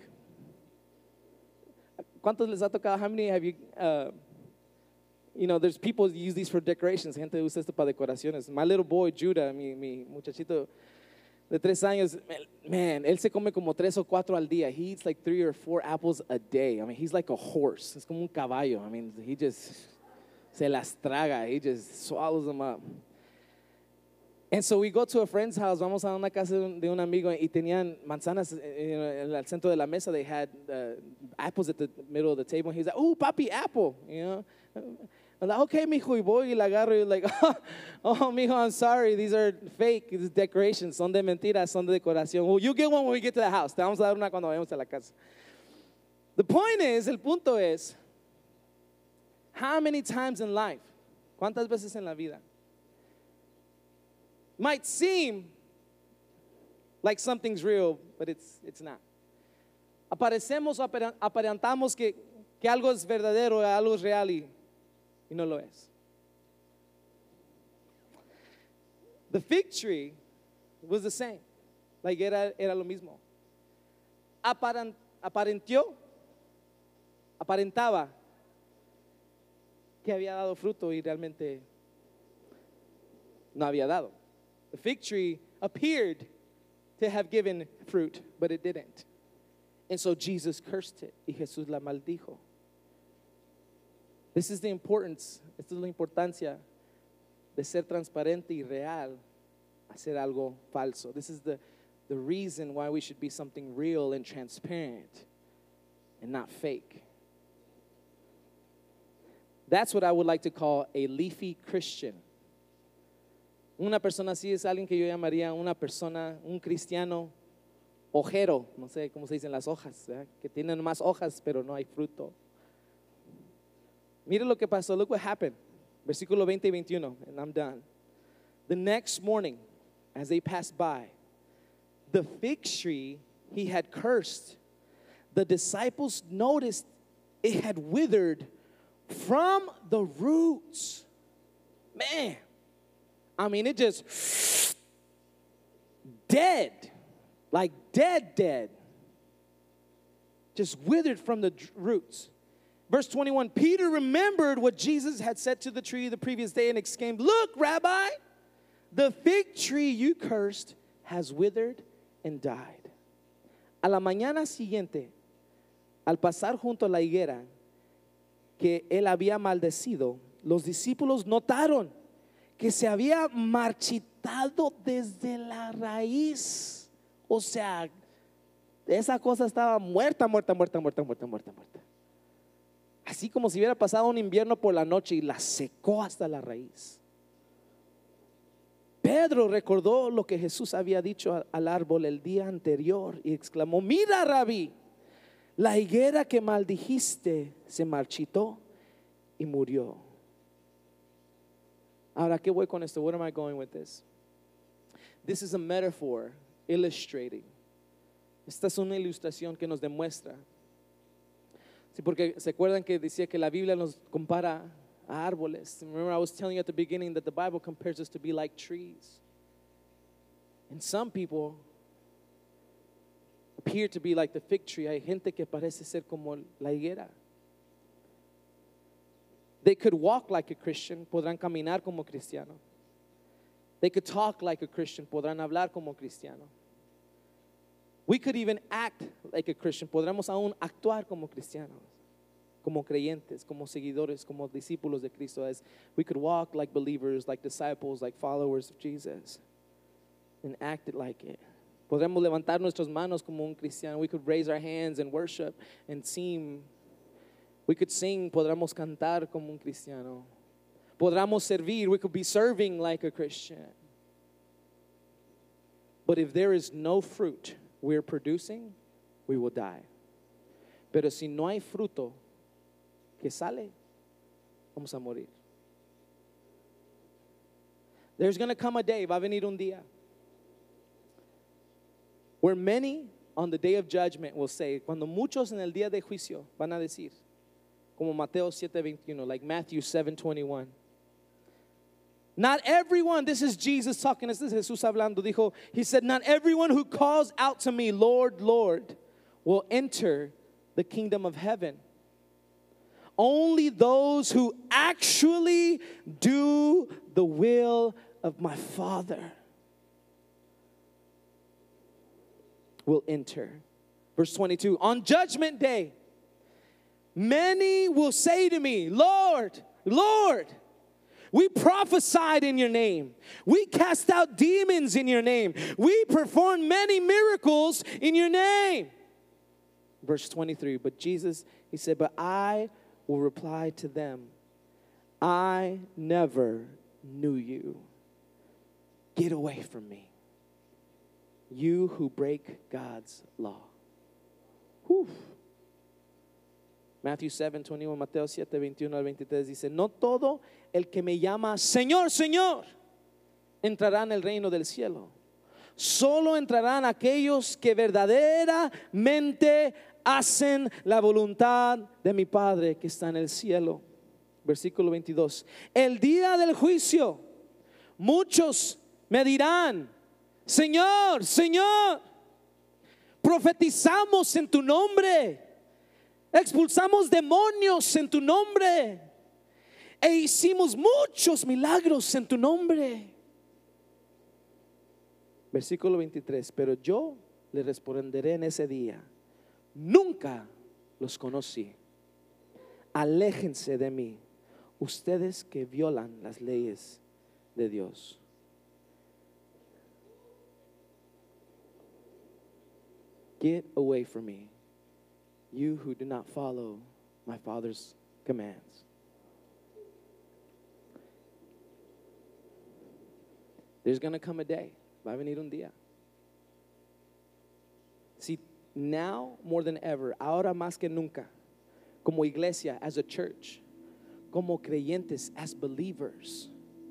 ¿Cuántos les ha tocado? How many have you, there's people who use these for decorations. Gente usa esto para decoraciones. My little boy, Judah, mi muchachito de 3 años, man, él se come como 3 o 4 al día. He eats like 3 or 4 apples a day. I mean, he's like a horse. Es como un caballo. I mean, he just se las traga. He just swallows them up. And so we go to a friend's house. Vamos a una casa de un amigo y tenían manzanas en el centro de la mesa. They had apples at the middle of the table. And he's like, "Oh, papi, apple." I'm like, "Okay, mijo." Y voy y la agarro y like, "Oh, mijo, I'm sorry. These are fake. These decorations. Son de mentiras. Son de decoración. Well, you get one when we get to the house. Te vamos a dar una cuando vayamos a la casa." The point is, el punto es, how many times in life, ¿cuántas veces en la vida? Might seem like something's real, but it's not. Aparecemos, aparentamos que algo es verdadero, algo es real y no lo es. The fig tree was the same. La higuera era lo mismo. Aparentaba que había dado fruto y realmente no había dado. The fig tree appeared to have given fruit, but it didn't. And so Jesus cursed it, y Jesús la maldijo. This is the importance, esta es la importancia de ser transparente y real, hacer algo falso. This is the reason why we should be something real and transparent and not fake. That's what I would like to call a leafy Christian. Una persona así es alguien que yo llamaría una persona, un cristiano hojero, no sé cómo se dicen las hojas, ¿verdad? Que tienen más hojas pero no hay fruto. Mire lo que pasó, look what happened. Versículo 20 y 21, and I'm done. The next morning, as they passed by, the fig tree he had cursed, the disciples noticed it had withered from the roots. Man, I mean, it just dead, like dead. Just withered from the roots. Verse 21, Peter remembered what Jesus had said to the tree the previous day and exclaimed, "Look, Rabbi, the fig tree you cursed has withered and died." A la mañana siguiente, al pasar junto a la higuera que él había maldecido, los discípulos notaron que se había marchitado desde la raíz. O sea, esa cosa estaba muerta. Así como si hubiera pasado un invierno por la noche y la secó hasta la raíz. Pedro recordó lo que Jesús había dicho al árbol el día anterior y exclamó: "Mira, Rabí, la higuera que maldijiste se marchitó y murió." Ahora, ¿qué voy con esto? Where am I going with this? This is a metaphor illustrating. Esta es una ilustración que nos demuestra. Sí, porque se acuerdan que decía que la Biblia nos compara a árboles. Remember, I was telling you at the beginning that the Bible compares us to be like trees. And some people appear to be like the fig tree. Hay gente que parece ser como la higuera. They could walk like a Christian, podrán caminar como cristiano. They could talk like a Christian, podrán hablar como cristiano. We could even act like a Christian, podremos aún actuar como cristianos, como creyentes, como seguidores, como discípulos de Cristo. As we could walk like believers, like disciples, like followers of Jesus, and act it like it. Podremos levantar nuestras manos como un cristiano. We could raise our hands and worship and sing. We could sing, podremos cantar como un cristiano. Podremos servir, we could be serving like a Christian. But if there is no fruit we're producing, we will die. Pero si no hay fruto que sale, vamos a morir. There's going to come a day, va a venir un día, where many on the day of judgment will say, cuando muchos en el día de juicio van a decir, como Mateo 7:21, like Matthew 7:21. Not everyone, this is Jesus talking, this is Jesús hablando, dijo, he said, not everyone who calls out to me, Lord, Lord, will enter the kingdom of heaven. Only those who actually do the will of my Father will enter. Verse 22, on judgment day, many will say to me, Lord, Lord, we prophesied in your name. We cast out demons in your name. We performed many miracles in your name. Verse 23, but Jesus, he said, but I will reply to them, I never knew you. Get away from me, you who break God's law. Whew. Matthew 7:21, Mateo 7:21 al 23 dice, no todo el que me llama Señor, Señor, entrará en el reino del cielo. Solo entrarán aquellos que verdaderamente hacen la voluntad de mi Padre que está en el cielo. Versículo 22. El día del juicio, muchos me dirán, Señor, Señor, profetizamos en tu nombre, expulsamos demonios en tu nombre e hicimos muchos milagros en tu nombre. Versículo 23. Pero yo le responderé en ese día, nunca los conocí. Aléjense de mí, ustedes que violan las leyes de Dios. Get away from me, you who do not follow my Father's commands. There's going to come a day. Va a venir un día. See, now more than ever, ahora más que nunca, como iglesia, as a church, como creyentes, as believers,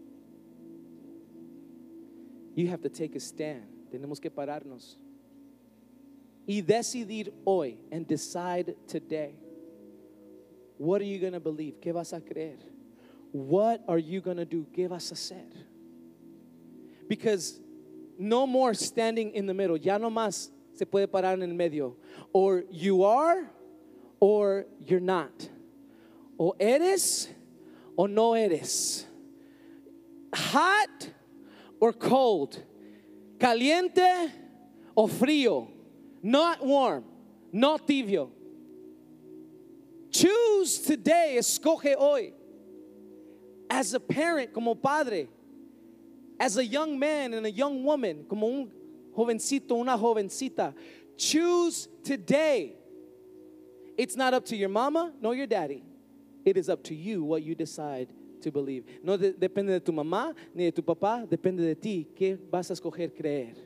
you have to take a stand. Tenemos que pararnos y decidir hoy, and decide today. What are you going to believe? ¿Qué vas a creer? What are you going to do? ¿Qué vas a hacer? Because no more standing in the middle. Ya no más se puede parar en el medio. Or you are, or you're not. O eres, o no eres. Hot or cold. Caliente o frío. Not warm, not tibio. Choose today, escoge hoy. As a parent, como padre. As a young man and a young woman, como un jovencito, una jovencita, choose today. It's not up to your mama, nor your daddy. It is up to you what you decide to believe. No depende de tu mamá ni de tu papá, depende de ti. ¿Qué vas a escoger creer?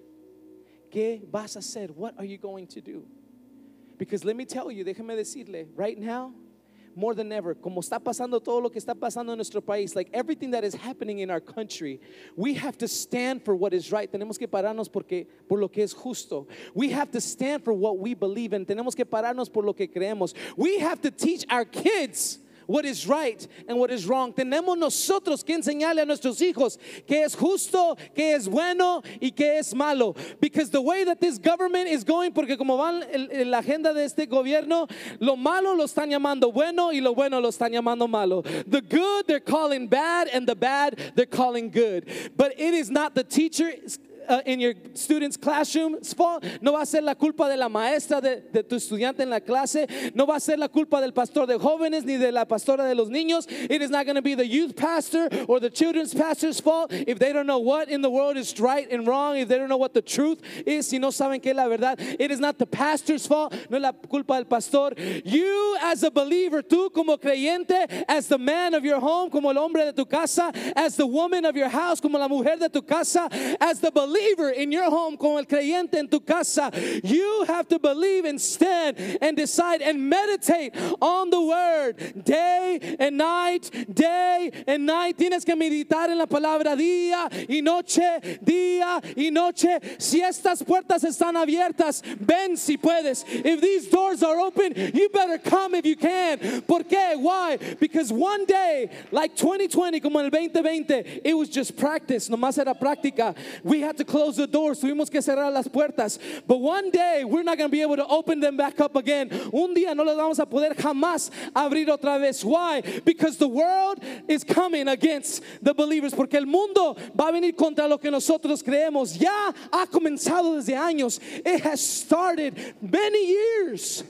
¿Qué vas a hacer? What are you going to do? Because let me tell you, déjame decirle, right now, more than ever, como está pasando todo lo que está pasando en nuestro país, like everything that is happening in our country, we have to stand for what is right. Tenemos que pararnos por lo que es justo. We have to stand for what we believe in. Tenemos que pararnos por lo que creemos. We have to teach our kids what is right and what is wrong. Tenemos nosotros que enseñarle a nuestros hijos qué es justo, qué es bueno y qué es malo. Because the way that this government is going, porque como va la agenda de este gobierno, lo malo lo están llamando bueno y lo bueno lo están llamando malo. The good they're calling bad and the bad they're calling good. But it is not the teacher in your student's classroom's fault. No va a ser la culpa de la maestra de tu estudiante en la clase. No va a ser la culpa del pastor de jóvenes ni de la pastora de los niños. It is not going to be the youth pastor or the children's pastor's fault if they don't know what in the world is right and wrong, if they don't know what the truth is, si no saben qué es la verdad. It is not the pastor's fault, no es la culpa del pastor. You as a believer, tú como creyente, as the man of your home, como el hombre de tu casa, as the woman of your house, como la mujer de tu casa, as the believer in your home, como el creyente en tu casa, you have to believe and stand and decide and meditate on the word day and night, day and night. Tienes que meditar en la palabra día y noche, día y noche. Si estas puertas están abiertas, ven si puedes. If these doors are open, you better come if you can. ¿Por qué? Why? Because one day, like 2020, como en el 2020, it was just practice, nomás era práctica. We had to close the doors, tuvimos que cerrar las puertas. But one day, we're not going to be able to open them back up again. Un día no las vamos a poder jamás abrir otra vez. Why? Because the world is coming against the believers. Porque el mundo va a venir contra lo que nosotros creemos. Ya ha comenzado desde años. It has started many years.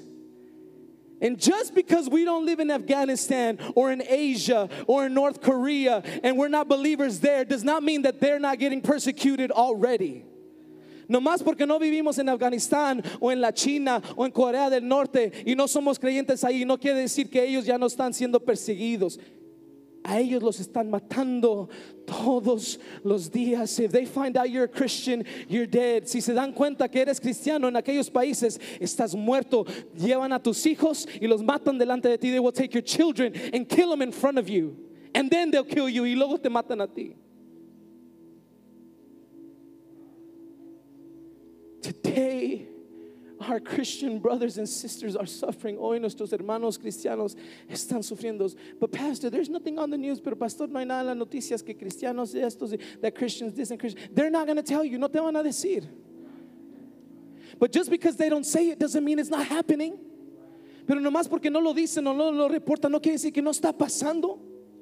And just because we don't live in Afghanistan or in Asia or in North Korea and we're not believers there does not mean that they're not getting persecuted already. No más porque no vivimos en Afganistán o en la China o en Corea del Norte y no somos creyentes ahí, no quiere decir que ellos ya no están siendo perseguidos. A ellos los están matando todos los días. If they find out you're a Christian, you're dead. Si se dan cuenta que eres cristiano en aquellos países, estás muerto. Llevan a tus hijos y los matan delante de ti. They will take your children and kill them in front of you. And then they'll kill you y luego te matan a ti. Today, our Christian brothers and sisters are suffering. Hoy nuestros hermanos cristianos están sufriendo. But pastor, there's nothing on the news. Pero pastor, no hay nada en las noticias que cristianos estos, that Christians this and Christians. They're not going to tell you. No te van a decir. But just because they don't say it doesn't mean it's not happening. Pero nomás porque no lo dicen o no lo reportan no quiere decir que no está pasando.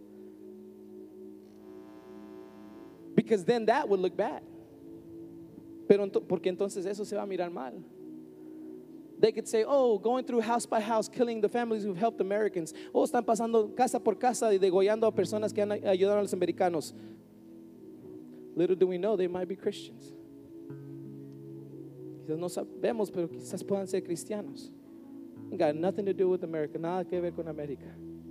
Because then that would look bad. Pero porque entonces eso se va a mirar mal. They could say, oh, going through house by house, killing the families who've helped Americans. Oh, están pasando casa por casa y degollando a personas que han ayudado a los americanos. Little do we know, they might be Christians. Quizás no sabemos, pero quizás puedan ser cristianos. It got nothing to do with America, nada que ver con América.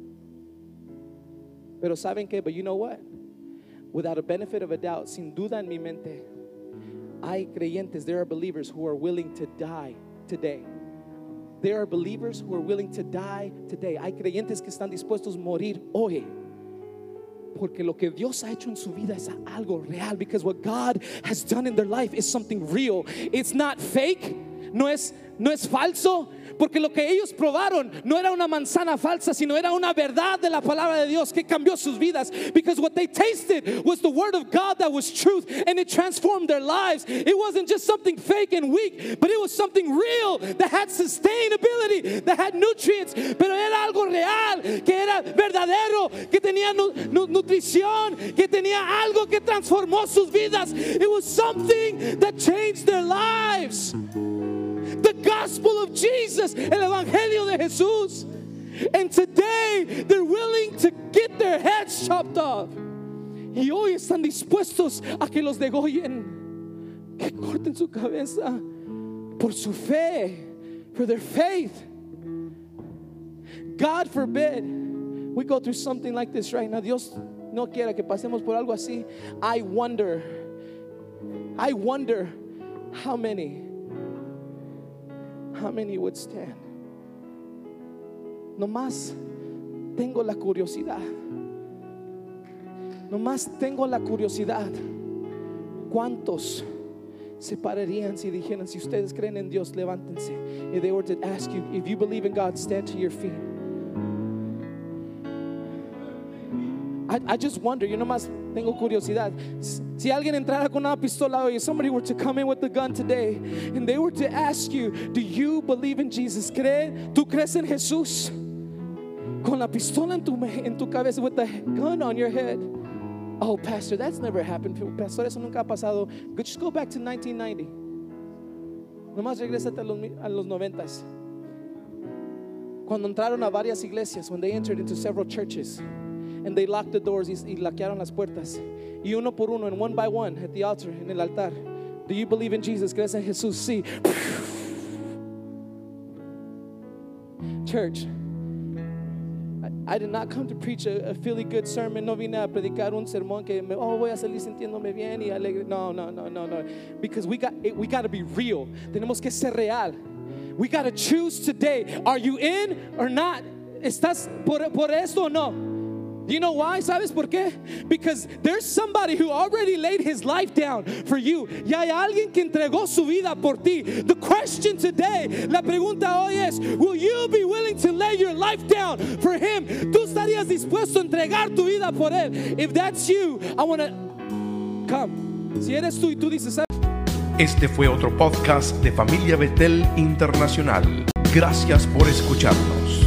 Pero ¿saben qué? But you know what? Without a benefit of a doubt, sin duda en mi mente, hay creyentes, there are believers who are willing to die today. There are believers who are willing to die today. Hay creyentes que están dispuestos a morir hoy. Porque lo que Dios ha hecho en su vida es algo real. Because what God has done in their life is something real. It's not fake. No es falso. Porque lo que ellos probaron no era una manzana falsa, sino era una verdad de la palabra de Dios que cambió sus vidas. Because what they tasted was the word of God that was truth, and it transformed their lives. It wasn't just something fake and weak, but it was something real that had sustainability, that had nutrients. Pero era algo real, que era verdadero, que tenía nutrición, que tenía algo que transformó sus vidas. It was something that changed their lives. The gospel of Jesus, el evangelio de Jesús. And today they're willing to get their heads chopped off. Y hoy están dispuestos a que los degollen, que corten su cabeza por su fe, for their faith. God forbid we go through something like this right now. Dios no quiera que pasemos por algo así. I wonder how many would stand. Nomás tengo la curiosidad. ¿Cuántos se pararían si dijeran, si ustedes creen en Dios, levántense? If they were to ask you, if you believe in God, stand to your feet. I just wonder, yo nomás tengo curiosidad. Si alguien entrara con una pistola, or somebody were to come in with a gun today, and they were to ask you, do you believe in Jesus? ¿Tú crees en Jesús? Con la pistola en tu cabeza, with the gun on your head. Oh, pastor, that's never happened. Pastor, eso nunca ha pasado. Just go back to 1990. Nomás regrésate a los 90s. Cuando entraron a varias iglesias, when they entered into several churches, and they locked the doors y laquearon las puertas. Y uno por uno, and one by one, at the altar, en el altar. Do you believe in Jesus? ¿Crees en Jesús? Sí. Church, I did not come to preach a really good sermon. No vine a predicar un sermón que voy a salir sintiéndome bien y alegre. No. Because we got to be real. Tenemos que ser real. We got to choose today. Are you in or not? ¿Estás por esto o no? Do you know why? ¿Sabes por qué? Because there's somebody who already laid his life down for you. Y hay alguien que entregó su vida por ti. The question today, la pregunta hoy es, will you be willing to lay your life down for him? ¿Tú estarías dispuesto a entregar tu vida por él? If that's you, I want to come. Si eres tú y tú dices, ¿sabes? Este fue otro podcast de Familia Betel Internacional. Gracias por escucharnos.